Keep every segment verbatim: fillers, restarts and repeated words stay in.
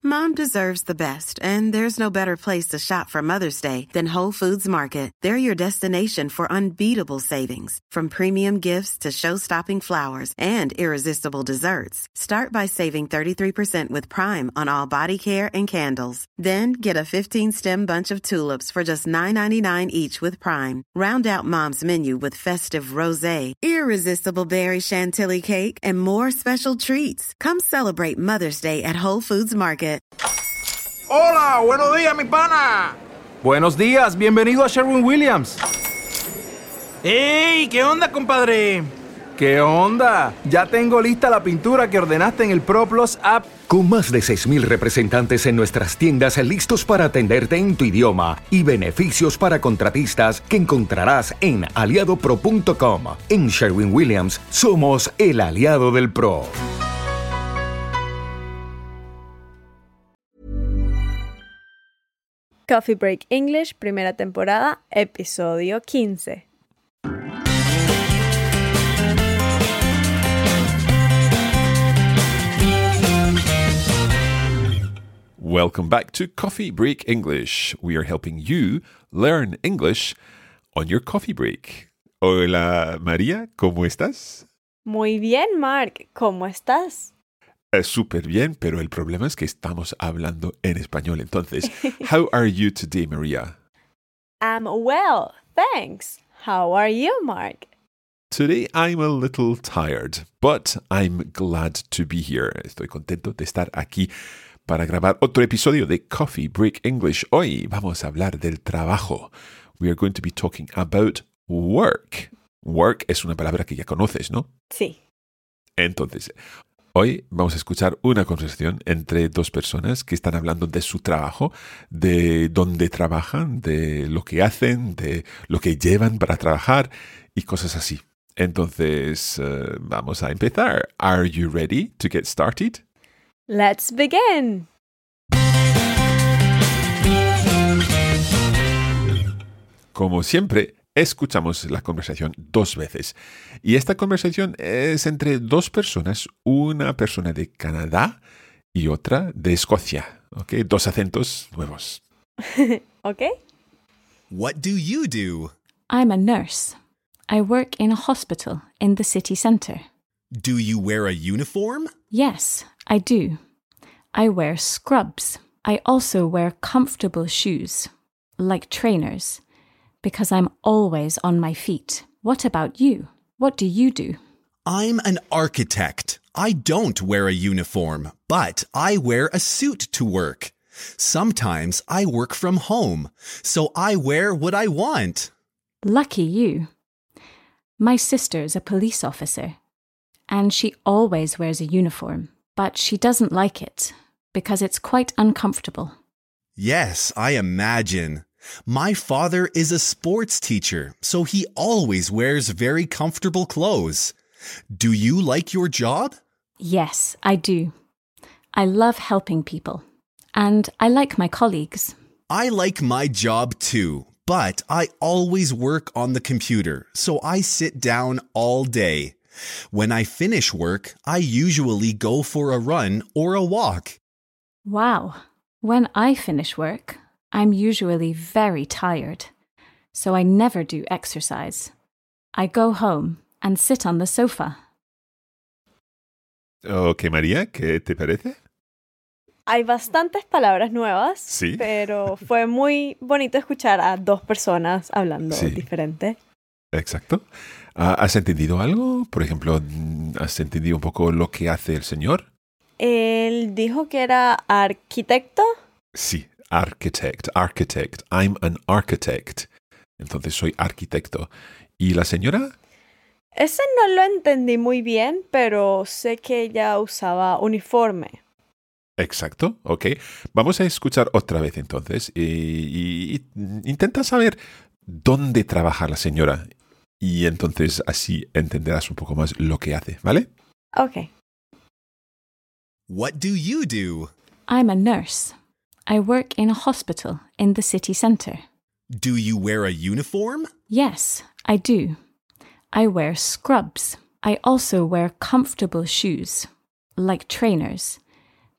Mom deserves the best, and there's no better place to shop for Mother's Day than Whole Foods Market. They're your destination for unbeatable savings, from premium gifts to show-stopping flowers and irresistible desserts. Start by saving thirty-three percent with Prime on all body care and candles. Then get a fifteen-stem bunch of tulips for just nine ninety-nine each with Prime. Round out Mom's menu with festive rosé, irresistible berry chantilly cake, and more special treats. Come celebrate Mother's Day at Whole Foods Market. Hola, buenos días, mi pana. Buenos días, bienvenido a Sherwin-Williams. ¡Ey! ¿Qué onda, compadre? ¿Qué onda? Ya tengo lista la pintura que ordenaste en el ProPlus app. Con más de seis mil representantes en nuestras tiendas listos para atenderte en tu idioma y beneficios para contratistas que encontrarás en aliado pro punto com. En Sherwin-Williams somos el aliado del pro. Coffee Break English, primera temporada, episodio quince. Welcome back to Coffee Break English. We are helping you learn English on your coffee break. Hola, María, ¿cómo estás? Muy bien, Mark. ¿Cómo estás? Eh, Súper bien, pero el problema es que estamos hablando en español. Entonces, how are you today, María? I'm well, thanks. How are you, Mark? Today I'm a little tired, but I'm glad to be here. Estoy contento de estar aquí para grabar otro episodio de Coffee Break English. Hoy vamos a hablar del trabajo. We are going to be talking about work. Work es una palabra que ya conoces, ¿no? Sí. Entonces, hoy vamos a escuchar una conversación entre dos personas que están hablando de su trabajo, de dónde trabajan, de lo que hacen, de lo que llevan para trabajar y cosas así. Entonces, uh, vamos a empezar. Are you ready to get started? Let's begin. Como siempre, escuchamos la conversación dos veces. Y esta conversación es entre dos personas, una persona de Canadá y otra de Escocia. ¿Okay? Dos acentos nuevos. Okay. What do you do? I'm a nurse. I work in a hospital in the city centre. Do you wear a uniform? Yes, I do. I wear scrubs. I also wear comfortable shoes, like trainers, because I'm always on my feet. What about you? What do you do? I'm an architect. I don't wear a uniform, but I wear a suit to work. Sometimes I work from home, so I wear what I want. Lucky you. My sister's a police officer, and she always wears a uniform, but she doesn't like it because it's quite uncomfortable. Yes, I imagine. My father is a sports teacher, so he always wears very comfortable clothes. Do you like your job? Yes, I do. I love helping people, and I like my colleagues. I like my job too, but I always work on the computer, so I sit down all day. When I finish work, I usually go for a run or a walk. Wow. When I finish work, I'm usually very tired, so I never do exercise. I go home and sit on the sofa. Ok, María, ¿qué te parece? Hay bastantes palabras nuevas, Sí. pero fue muy bonito escuchar a dos personas hablando Sí. diferente. Exacto. Ah, ¿Has entendido algo? Por ejemplo, ¿has entendido un poco lo que hace el señor? Él dijo que era arquitecto. Sí, architect, architect. I'm an architect. Entonces soy arquitecto. ¿Y la señora? Ese no lo entendí muy bien, pero sé que ella usaba uniforme. Exacto, ok. Vamos a escuchar otra vez entonces y, y- y intenta saber dónde trabaja la señora y entonces así entenderás un poco más lo que hace, ¿vale? Okay. What do you do? I'm a nurse. I work in a hospital in the city centre. Do you wear a uniform? Yes, I do. I wear scrubs. I also wear comfortable shoes, like trainers,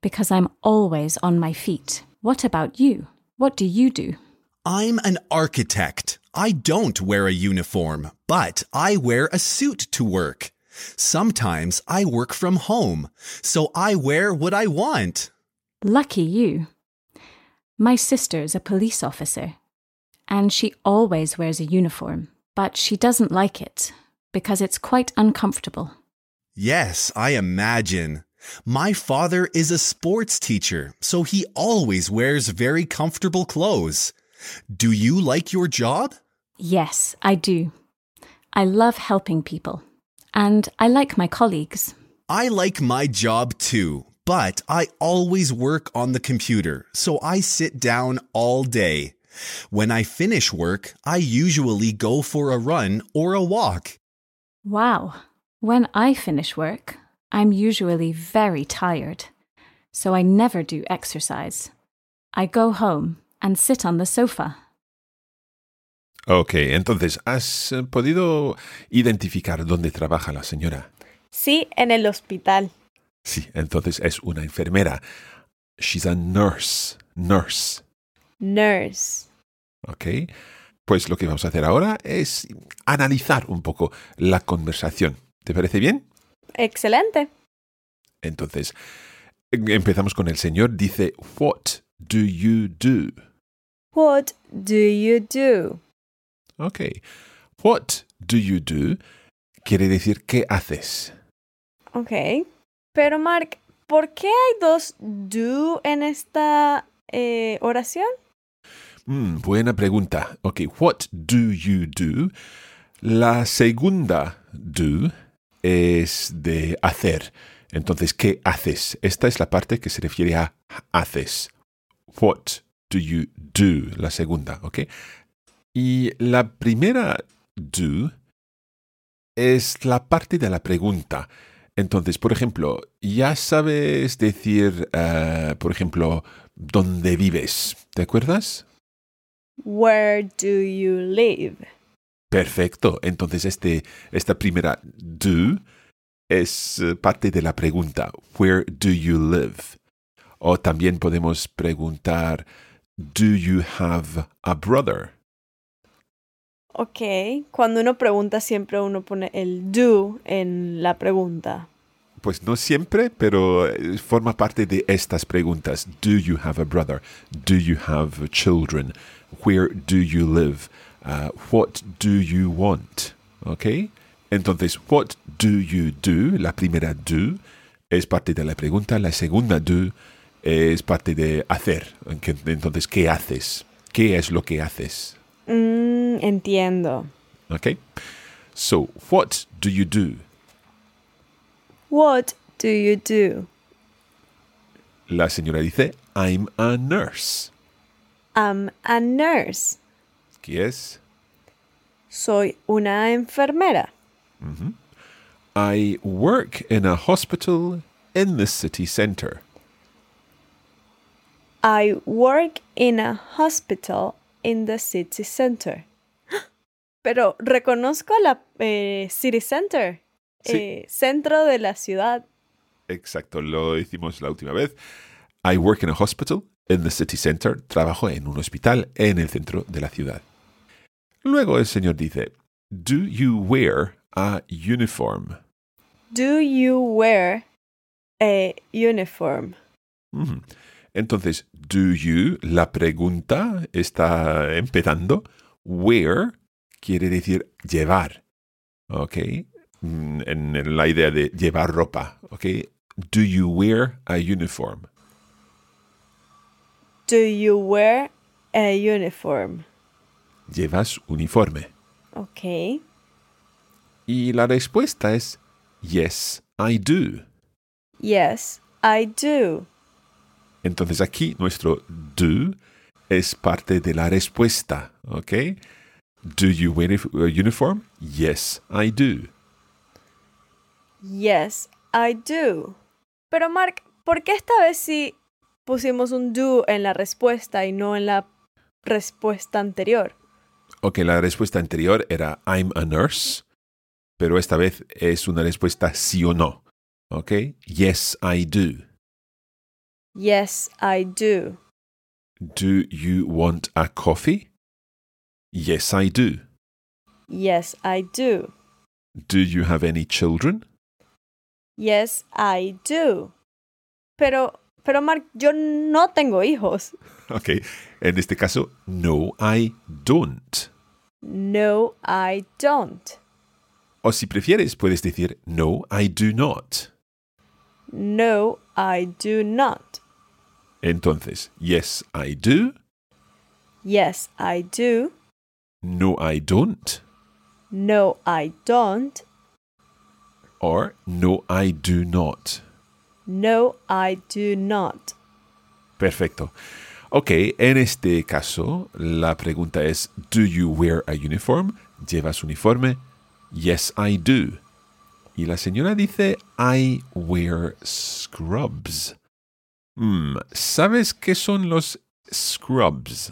because I'm always on my feet. What about you? What do you do? I'm an architect. I don't wear a uniform, but I wear a suit to work. Sometimes I work from home, so I wear what I want. Lucky you. My sister's a police officer, and she always wears a uniform, but she doesn't like it because it's quite uncomfortable. Yes, I imagine. My father is a sports teacher, so he always wears very comfortable clothes. Do you like your job? Yes, I do. I love helping people, and I like my colleagues. I like my job too, but I always work on the computer, so I sit down all day. When I finish work, I usually go for a run or a walk. Wow. When I finish work, I'm usually very tired, so I never do exercise. I go home and sit on the sofa. Ok, entonces, ¿has eh, podido identificar dónde trabaja la señora? Sí, en el hospital. Sí, entonces es una enfermera. She's a nurse. Nurse. Nurse. Ok. Pues lo que vamos a hacer ahora es analizar un poco la conversación. ¿Te parece bien? Excelente. Entonces, em- empezamos con el señor. Dice, what do you do? What do you do? Ok. What do you do quiere decir ¿qué haces? Ok. Pero Mark, ¿por qué hay dos do en esta eh, oración? Mm, buena pregunta. Ok, what do you do? La segunda do es de hacer. Entonces, ¿qué haces? Esta es la parte que se refiere a haces. What do you do? La segunda, ¿ok? Y la primera do es la parte de la pregunta. Entonces, por ejemplo, ya sabes decir, uh, por ejemplo, ¿dónde vives? ¿Te acuerdas? Where do you live? Perfecto. Entonces, este, esta primera do es eh, parte de la pregunta. Where do you live? O también podemos preguntar, do you have a brother? Ok. Cuando uno pregunta, siempre uno pone el do en la pregunta. Pues no siempre, pero eh, forma parte de estas preguntas. Do you have a brother? Do you have children? Where do you live? Uh, what do you want? ¿Ok? Entonces, what do you do? La primera do es parte de la pregunta. La segunda do es parte de hacer. Entonces, ¿qué haces? ¿Qué es lo que haces? Mm, entiendo. ¿Ok? So, what do you do? What do you do? La señora dice, I'm a nurse. I'm a nurse. ¿Qué es? Soy una enfermera. Mm-hmm. I work in a hospital in the city center. I work in a hospital in the city center. Pero reconozco la eh, city center. Sí. Eh, centro de la ciudad. Exacto, lo hicimos la última vez. I work in a hospital in the city center. Trabajo en un hospital en el centro de la ciudad. Luego el señor dice, do you wear a uniform? Do you wear a uniform? Mm. Entonces, do you, la pregunta está empezando. Wear quiere decir llevar. ¿Ok? Mm, en la idea de llevar ropa. ¿Ok? Do you wear a uniform? Do you wear a uniform? Llevas uniforme. Ok. Y la respuesta es yes, I do. Yes, I do. Entonces aquí nuestro do es parte de la respuesta, ¿ok? Do you wear a uniform? Yes, I do. Yes, I do. Pero Mark, ¿por qué esta vez sí pusimos un do en la respuesta y no en la respuesta anterior? Ok, la respuesta anterior era I'm a nurse, pero esta vez es una respuesta sí o no, ¿ok? Yes, I do. Yes, I do. Do you want a coffee? Yes, I do. Yes, I do. Do you have any children? Yes, I do. Pero, pero Mark, yo no tengo hijos. Ok, en este caso, no, I don't. No, I don't. O si prefieres, puedes decir, no, I do not. No, I do not. Entonces, yes, I do. Yes, I do. No, I don't. No, I don't. Or, no, I do not. No, I do not. Perfecto. Ok, en este caso, la pregunta es, do you wear a uniform? ¿Llevas uniforme? Yes, I do. Y la señora dice, I wear scrubs. Mm, ¿sabes qué son los scrubs?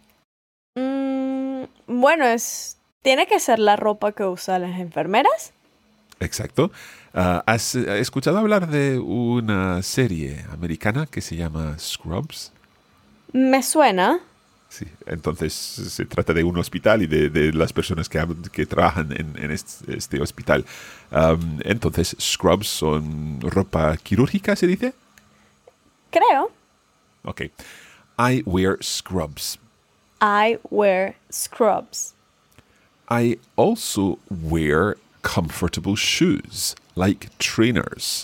Mm, bueno, es tiene que ser la ropa que usan las enfermeras. Exacto. Uh, ¿Has escuchado hablar de una serie americana que se llama Scrubs? Me suena. Sí, entonces se trata de un hospital y de, de las personas que, que trabajan en, en este, este hospital. Um, entonces, Scrubs son ropa quirúrgica, ¿se dice? Creo. Ok. I wear scrubs. I wear scrubs. I also wear comfortable shoes, like trainers.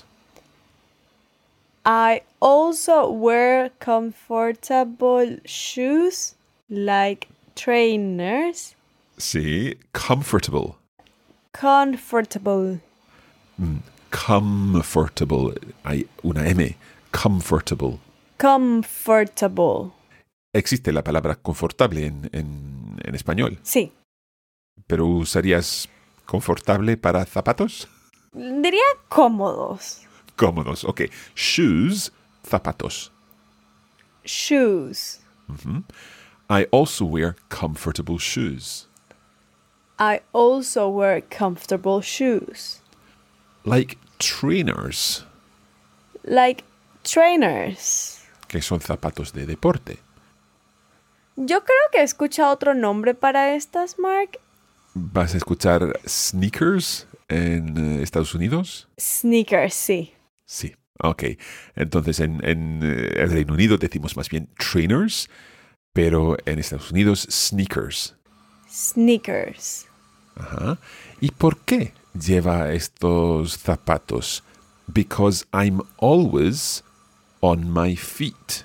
I also wear comfortable shoes, like trainers. Sí, comfortable. Comfortable. Mm, comfortable. Hay una M. Comfortable. Comfortable. Existe la palabra confortable en, en, en español. Sí. ¿Pero usarías confortable para zapatos? Diría cómodos. Cómodos, ok. Shoes, zapatos. Shoes. Mm-hmm. I also wear comfortable shoes. I also wear comfortable shoes. Like trainers. Like trainers. Que son zapatos de deporte. Yo creo que escucha otro nombre para estas, Mark. ¿Vas a escuchar sneakers en uh, Estados Unidos? Sneakers, sí. Sí, ok. Entonces en, en uh, el Reino Unido decimos más bien trainers, pero en Estados Unidos sneakers. Sneakers. Ajá. ¿Y por qué lleva estos zapatos? Because I'm always on my feet.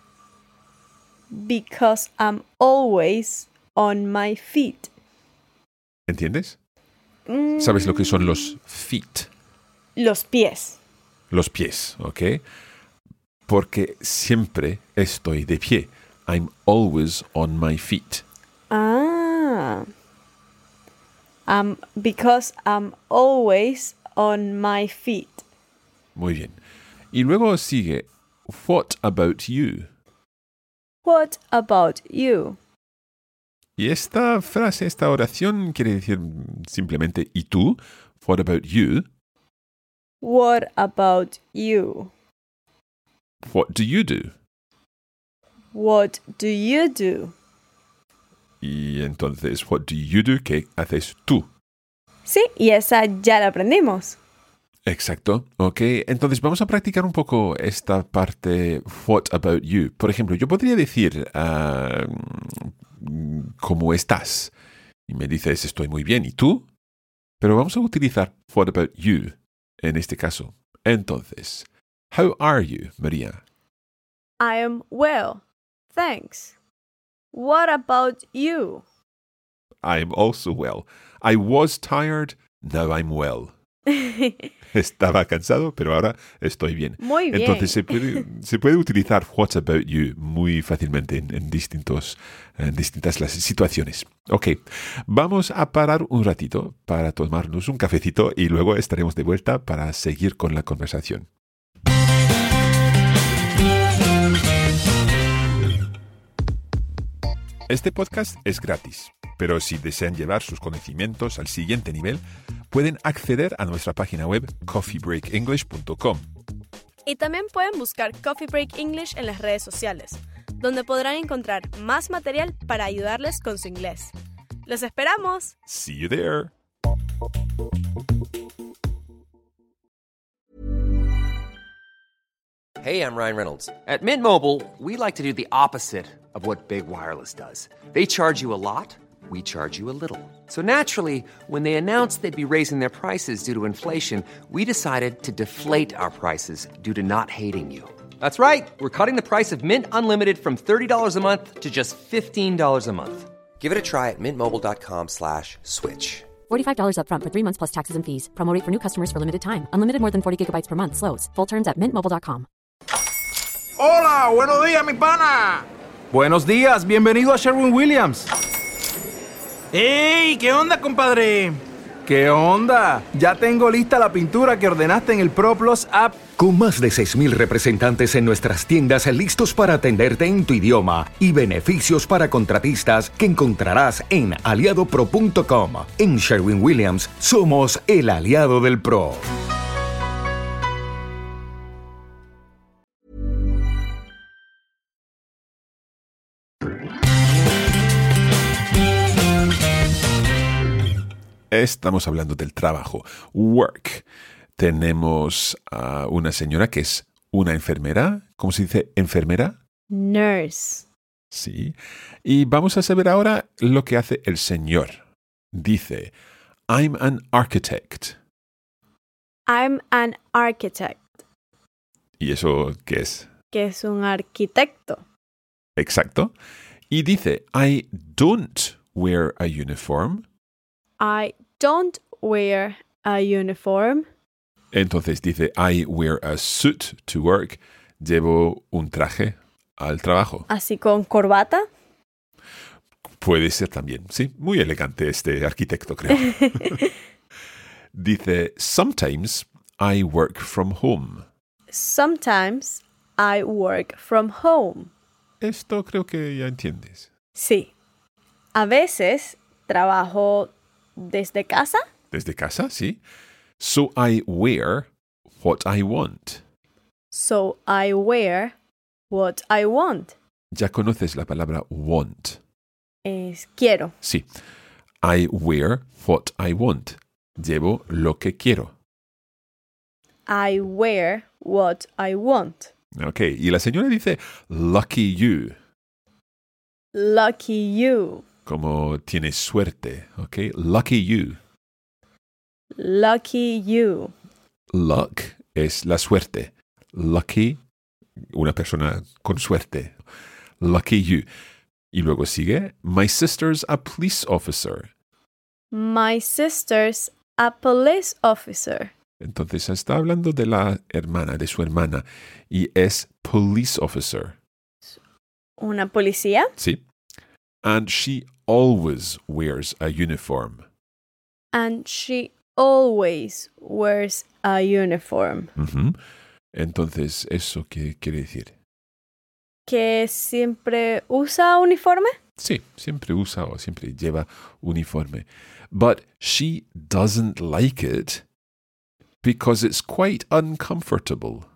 Because I'm always on my feet. ¿Entiendes? Mm. ¿Sabes lo que son los feet? Los pies. Los pies, ¿ok? Porque siempre estoy de pie. I'm always on my feet. Ah. Um, because I'm always on my feet. Muy bien. Y luego sigue, what about you? What about you? Y esta frase, esta oración quiere decir simplemente, ¿y tú? What about you? What about you? What do you do? What do you do? Y entonces, what do you do? ¿Qué haces tú? Sí, y esa ya la aprendimos. Exacto. Ok, entonces vamos a practicar un poco esta parte, what about you. Por ejemplo, yo podría decir, uh, ¿cómo estás? Y me dices, estoy muy bien. ¿Y tú? Pero vamos a utilizar what about you en este caso. Entonces, how are you, María? I am well, thanks. What about you? I am also well. I was tired, now I'm well. Estaba cansado, pero ahora estoy bien. Muy bien. Entonces se puede, se puede utilizar what about you muy fácilmente en, en, distintos, en distintas las situaciones. Ok, vamos a parar un ratito para tomarnos un cafecito y luego estaremos de vuelta para seguir con la conversación. Este podcast es gratis, pero si desean llevar sus conocimientos al siguiente nivel, pueden acceder a nuestra página web coffee break english punto com. Y también pueden buscar Coffee Break English en las redes sociales, donde podrán encontrar más material para ayudarles con su inglés. ¡Los esperamos! See you there. Hey, I'm Ryan Reynolds. At Mint Mobile, we like to do the opposite of what Big Wireless does. They charge you a lot, we charge you a little. So naturally, when they announced they'd be raising their prices due to inflation, we decided to deflate our prices due to not hating you. That's right. We're cutting the price of Mint Unlimited from thirty dollars a month to just fifteen dollars a month. Give it a try at mintmobile.com slash switch. forty-five dollars up front for three months plus taxes and fees. Promo rate for new customers for limited time. Unlimited more than forty gigabytes per month. Slows full terms at mint mobile dot com. Hola, buenos días, mi pana. Buenos días, bienvenido a Sherwin-Williams. ¡Ey! ¿Qué onda, compadre? ¿Qué onda? Ya tengo lista la pintura que ordenaste en el ProPlus app. Con más de seis mil representantes en nuestras tiendas listos para atenderte en tu idioma y beneficios para contratistas que encontrarás en aliado pro punto com. En Sherwin-Williams somos el aliado del pro. Estamos hablando del trabajo, work. Tenemos a una señora que es una enfermera. ¿Cómo se dice enfermera? Nurse. Sí. Y vamos a saber ahora lo que hace el señor. Dice, I'm an architect. I'm an architect. ¿Y eso qué es? Que es un arquitecto. Exacto. Y dice, I don't wear a uniform. I don't wear a uniform. Entonces dice, I wear a suit to work. Llevo un traje al trabajo. ¿Así con corbata? Puede ser también, sí. Muy elegante este arquitecto, creo. Dice, sometimes I work from home. Sometimes I work from home. Esto creo que ya entiendes. Sí. A veces trabajo desde casa. Desde casa, sí. So I wear what I want. So I wear what I want. Ya conoces la palabra want. Es quiero. Sí. I wear what I want. Llevo lo que quiero. I wear what I want. Ok, y la señora dice, lucky you. Lucky you. Como tienes suerte, ok. Lucky you. Lucky you. Luck es la suerte. Lucky, una persona con suerte. Lucky you. Y luego sigue, my sister's a police officer. My sister's a police officer. Entonces está hablando de la hermana, de su hermana, y es police officer. ¿Una policía? Sí. And she always wears a uniform. And she always wears a uniform. Uh-huh. Entonces, ¿eso qué quiere decir? ¿Que siempre usa uniforme? Sí, siempre usa o siempre lleva uniforme. But she doesn't like it because it's quite uncomfortable.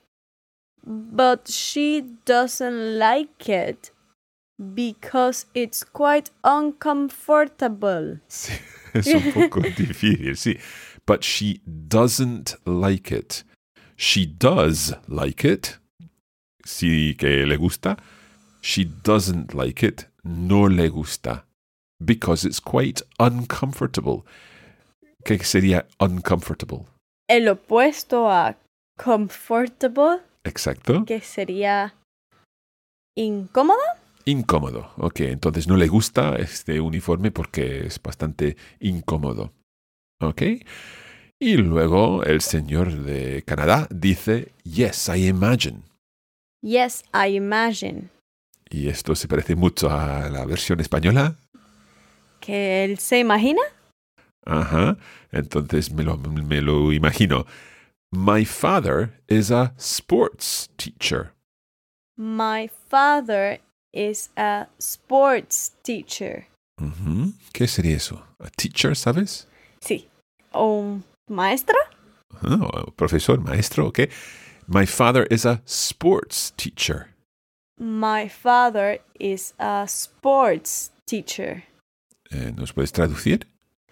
But she doesn't like it because it's quite uncomfortable. Sí, es un poco difícil, sí. But she doesn't like it. She does like it. Sí que le gusta. She doesn't like it. No le gusta. Because it's quite uncomfortable. ¿Qué sería uncomfortable? El opuesto a comfortable. Exacto. Que sería incómodo. Incómodo. Ok, entonces no le gusta este uniforme porque es bastante incómodo. Ok. Y luego el señor de Canadá dice, yes, I imagine. Yes, I imagine. Y esto se parece mucho a la versión española. ¿Que él se imagina? Ajá. Entonces me lo, me lo imagino. My father is a sports teacher. My father is a sports teacher. Uh-huh. ¿Qué sería eso? ¿A teacher, sabes? Sí. ¿Un maestro? Uh-huh. Profesor, maestro, ok. My father is a sports teacher. My father is a sports teacher. Eh, ¿Nos puedes traducir?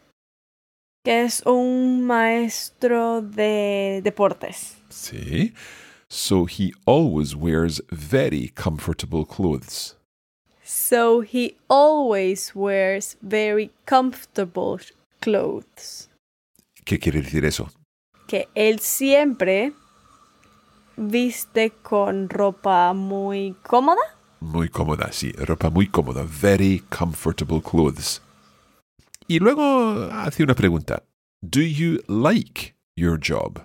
Que es un maestro de deportes. Sí. So he always wears very comfortable clothes. So he always wears very comfortable clothes. ¿Qué quiere decir eso? Que él siempre viste con ropa muy cómoda. Muy cómoda, sí. Ropa muy cómoda. Very comfortable clothes. Y luego hace una pregunta. Do you like your job?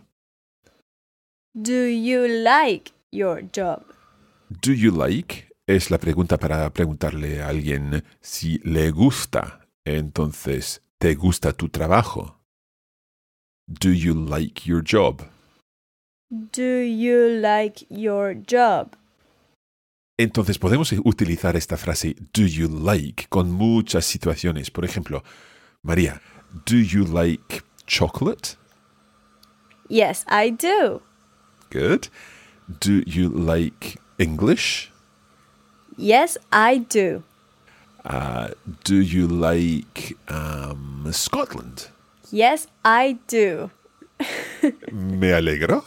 Do you like your job? Do you like es la pregunta para preguntarle a alguien si le gusta. Entonces, ¿te gusta tu trabajo? Do you like your job? Do you like your job? Entonces podemos utilizar esta frase do you like con muchas situaciones. Por ejemplo, María, do you like chocolate? Yes, I do. Good. Do you like English? Yes, I do. Uh, do you like um, Scotland? Yes, I do. Me alegro.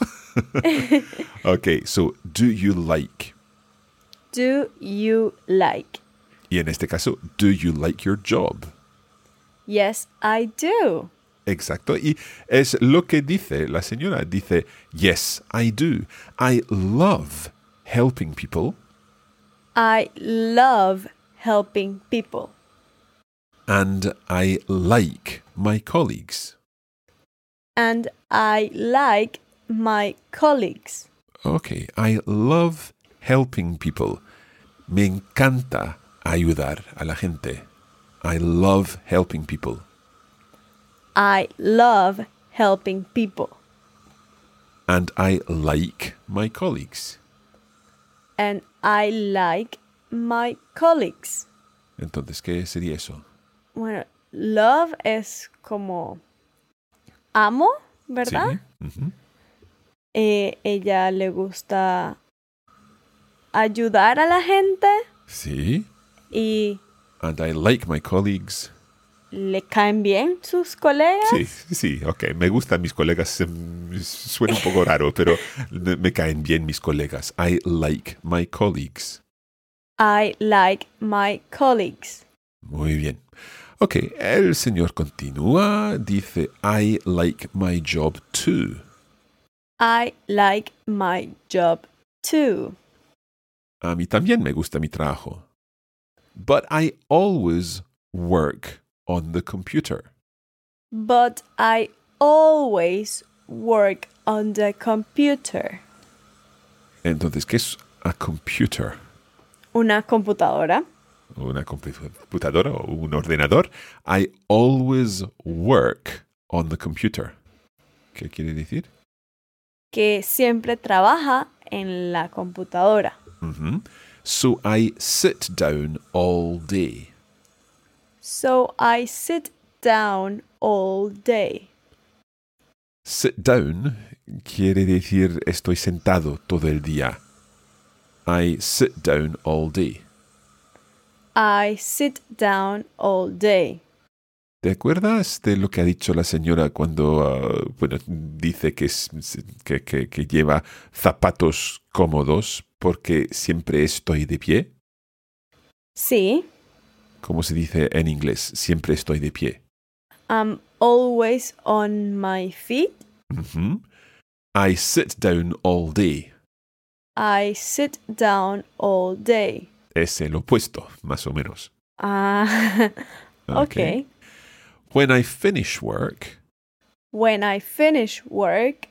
Okay, so do you like? Do you like? Y en este caso, do you like your job? Yes, I do. Exacto. Y es lo que dice la señora. Dice, yes, I do. I love helping people. I love helping people. And I like my colleagues. And I like my colleagues. Okay, I love helping people. Me encanta ayudar a la gente. I love helping people. I love helping people. And I like my colleagues. And I like my colleagues. Entonces, ¿qué sería eso? Bueno, love es como amo, ¿verdad? Sí. Uh-huh. Eh, ella le gusta ayudar a la gente. Sí. Y And I like my colleagues. ¿le caen bien sus colegas? Sí, sí, ok. Me gustan mis colegas. Suena un poco raro, pero me caen bien mis colegas. I like my colleagues. I like my colleagues. Muy bien. Ok, el señor continúa. Dice, I like my job too. I like my job too. A mí también me gusta mi trabajo. But I always work on the computer. But I always work on the computer. Entonces, ¿qué es a computer? Una computadora. Una computadora o un ordenador. I always work on the computer. ¿Qué quiere decir? Que siempre trabaja en la computadora. Mm-hmm. So I sit down all day. So I sit down all day. Sit down quiere decir estoy sentado todo el día. I sit down all day. I sit down all day. ¿Te acuerdas de lo que ha dicho la señora cuando uh, bueno, dice que, es, que, que, que lleva zapatos cómodos porque siempre estoy de pie? Sí. ¿Cómo se dice en inglés? Siempre estoy de pie. I'm always on my feet. Mm-hmm. I sit down all day. I sit down all day. Es el opuesto, más o menos. Ah, uh, okay. When I finish work, when I finish work,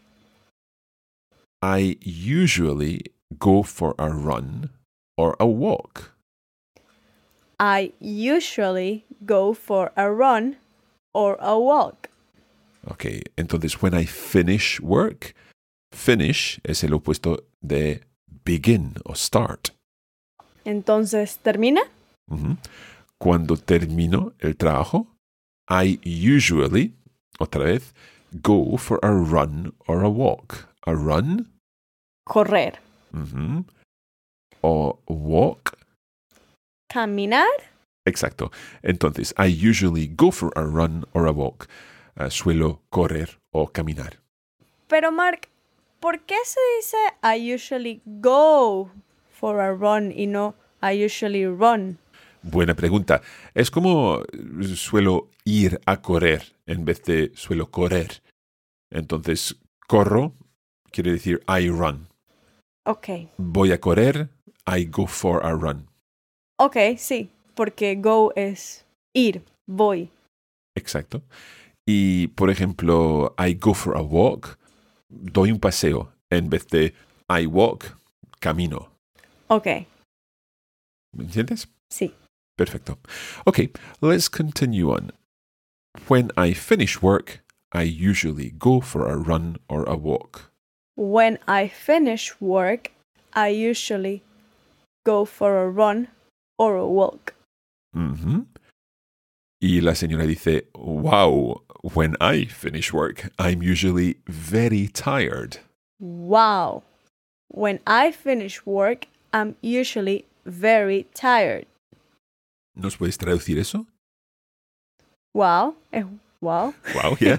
I usually go for a run or a walk. I usually go for a run or a walk. Okay, entonces when I finish work, finish es el opuesto de begin o start. Entonces, ¿termina? Uh-huh. Cuando termino el trabajo, I usually, otra vez, go for a run or a walk. A run correr. Uh-huh. O walk. Caminar. Exacto. Entonces, I usually go for a run or a walk. Uh, suelo correr o caminar. Pero Mark, ¿por qué se dice I usually go for a run y no I usually run? Buena pregunta. Es como suelo ir a correr en vez de suelo correr. Entonces, corro quiere decir I run. Ok. Voy a correr, I go for a run. Ok, sí, porque go es ir, voy. Exacto. Y, por ejemplo, I go for a walk, doy un paseo en vez de I walk, camino. Ok. ¿Me entiendes? Sí. Perfecto. Okay, let's continue on. When I finish work, I usually go for a run or a walk. When I finish work, I usually go for a run or a walk. Mm-hmm. Y la señora dice, wow, when I finish work, I'm usually very tired. Wow. When I finish work, I'm usually very tired. ¿Nos puedes traducir eso? Wow. Es wow. Wow, yeah.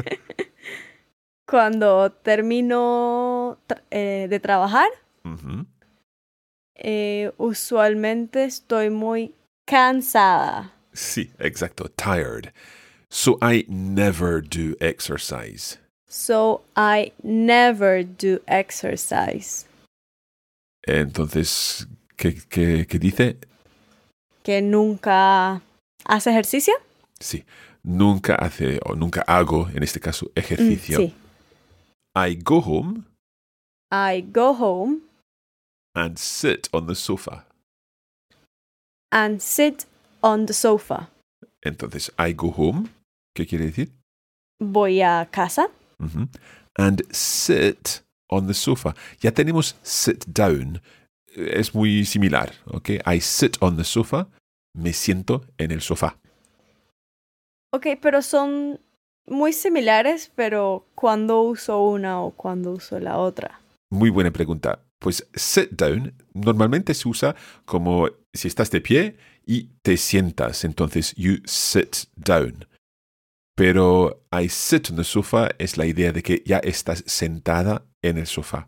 Cuando termino tra- eh, de trabajar, Mm-hmm. eh, usualmente estoy muy cansada. Sí, exacto, tired. So I never do exercise. So I never do exercise. Entonces, ¿qué, qué, qué dice? ¿Que nunca hace ejercicio? Sí, nunca hace o nunca hago, en este caso, ejercicio. Mm, sí. I go home I go home and sit on the sofa. and sit on the sofa. Entonces, I go home, ¿qué quiere decir? Voy a casa. Uh-huh. And sit on the sofa. Ya tenemos sit down. Es muy similar, ¿ok? I sit on the sofa. Me siento en el sofá. Ok, pero son muy similares, pero ¿cuándo uso una o cuándo uso la otra? Muy buena pregunta. Pues sit down normalmente se usa como si estás de pie y te sientas. Entonces, you sit down. Pero I sit on the sofa es la idea de que ya estás sentada en el sofá.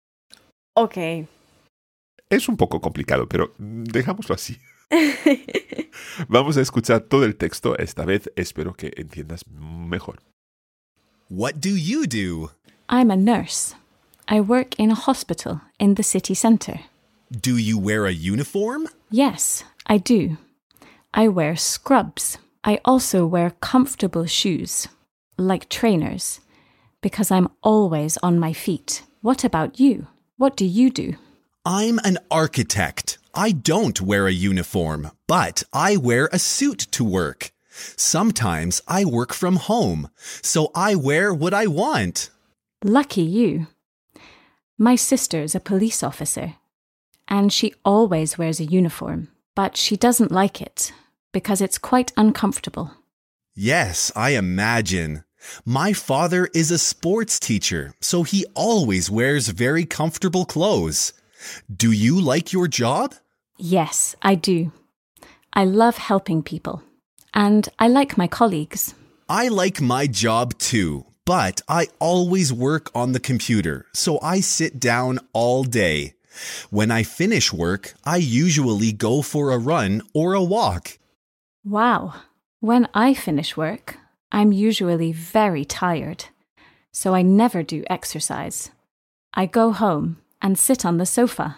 Ok. Es un poco complicado, pero dejámoslo así. Vamos a escuchar todo el texto. Esta vez espero que entiendas mejor. What do you do? I'm a nurse. I work in a hospital in the city centre. Do you wear a uniform? Yes, I do. I wear scrubs. I also wear comfortable shoes, like trainers, because I'm always on my feet. What about you? What do you do? I'm an architect. I don't wear a uniform, but I wear a suit to work. Sometimes I work from home, so I wear what I want. Lucky you. My sister's a police officer, and she always wears a uniform, but she doesn't like it because it's quite uncomfortable. Yes, I imagine. My father is a sports teacher, so he always wears very comfortable clothes. Do you like your job? Yes, I do. I love helping people, and I like my colleagues. I like my job too, but I always work on the computer, so I sit down all day. When I finish work, I usually go for a run or a walk. Wow. When I finish work, I'm usually very tired, so I never do exercise. I go home and sit on the sofa.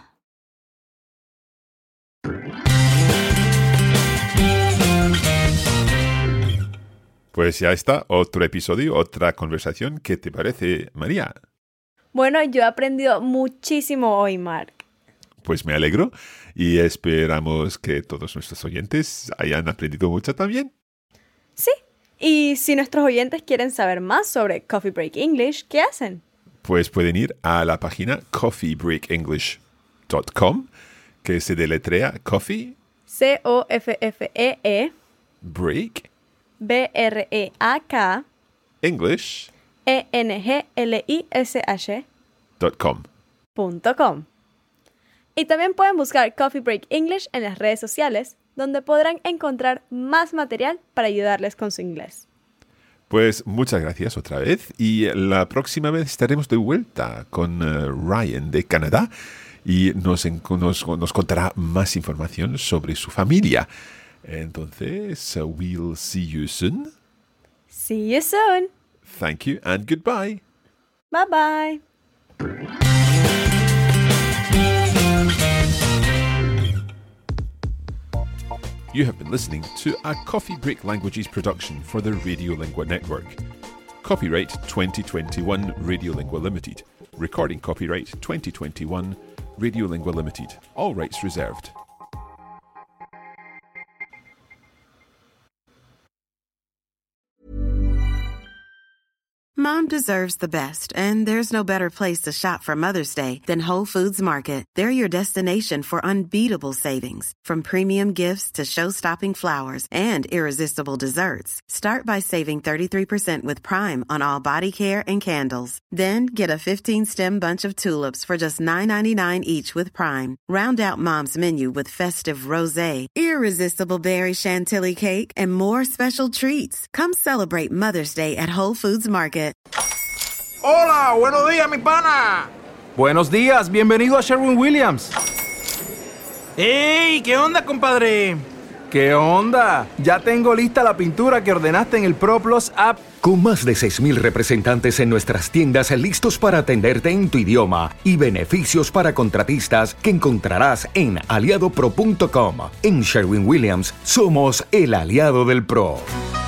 Pues ya está, otro episodio, otra conversación. ¿Qué te parece, María? Bueno, yo he aprendido muchísimo hoy, Mark. Pues me alegro y esperamos que todos nuestros oyentes hayan aprendido mucho también. Sí. Y si nuestros oyentes quieren saber más sobre Coffee Break English, ¿qué hacen? Pues pueden ir a la página coffee break english dot com, que se deletrea coffee, C O F F E E, break, B R E A K, english E N G L I S H, dot com. punto com. Y también pueden buscar Coffee Break English en las redes sociales, donde podrán encontrar más material para ayudarles con su inglés. Pues muchas gracias otra vez y la próxima vez estaremos de vuelta con uh, Ryan de Canadá y nos, nos, nos contará más información sobre su familia. Entonces, uh, we'll see you soon. See you soon. Thank you and goodbye. Bye bye. You have been listening to a Coffee Break Languages production for the Radiolingua Network. Copyright twenty twenty-one Radiolingua Limited. Recording copyright twenty twenty-one Radiolingua Limited. All rights reserved. Mom deserves the best, and there's no better place to shop for Mother's Day than Whole Foods Market. They're your destination for unbeatable savings, from premium gifts to show-stopping flowers and irresistible desserts. Start by saving thirty-three percent with Prime on all body care and candles. Then get a fifteen-stem bunch of tulips for just nine ninety-nine each with Prime. Round out Mom's menu with festive rosé, irresistible berry chantilly cake, and more special treats. Come celebrate Mother's Day at Whole Foods Market. Hola, buenos días, mi pana. Buenos días, bienvenido a Sherwin-Williams. ¡Ey! ¿Qué onda, compadre? ¿Qué onda? Ya tengo lista la pintura que ordenaste en el ProPlus app. Con más de seis mil representantes en nuestras tiendas listos para atenderte en tu idioma y beneficios para contratistas que encontrarás en aliado pro punto com. En Sherwin-Williams somos el aliado del pro.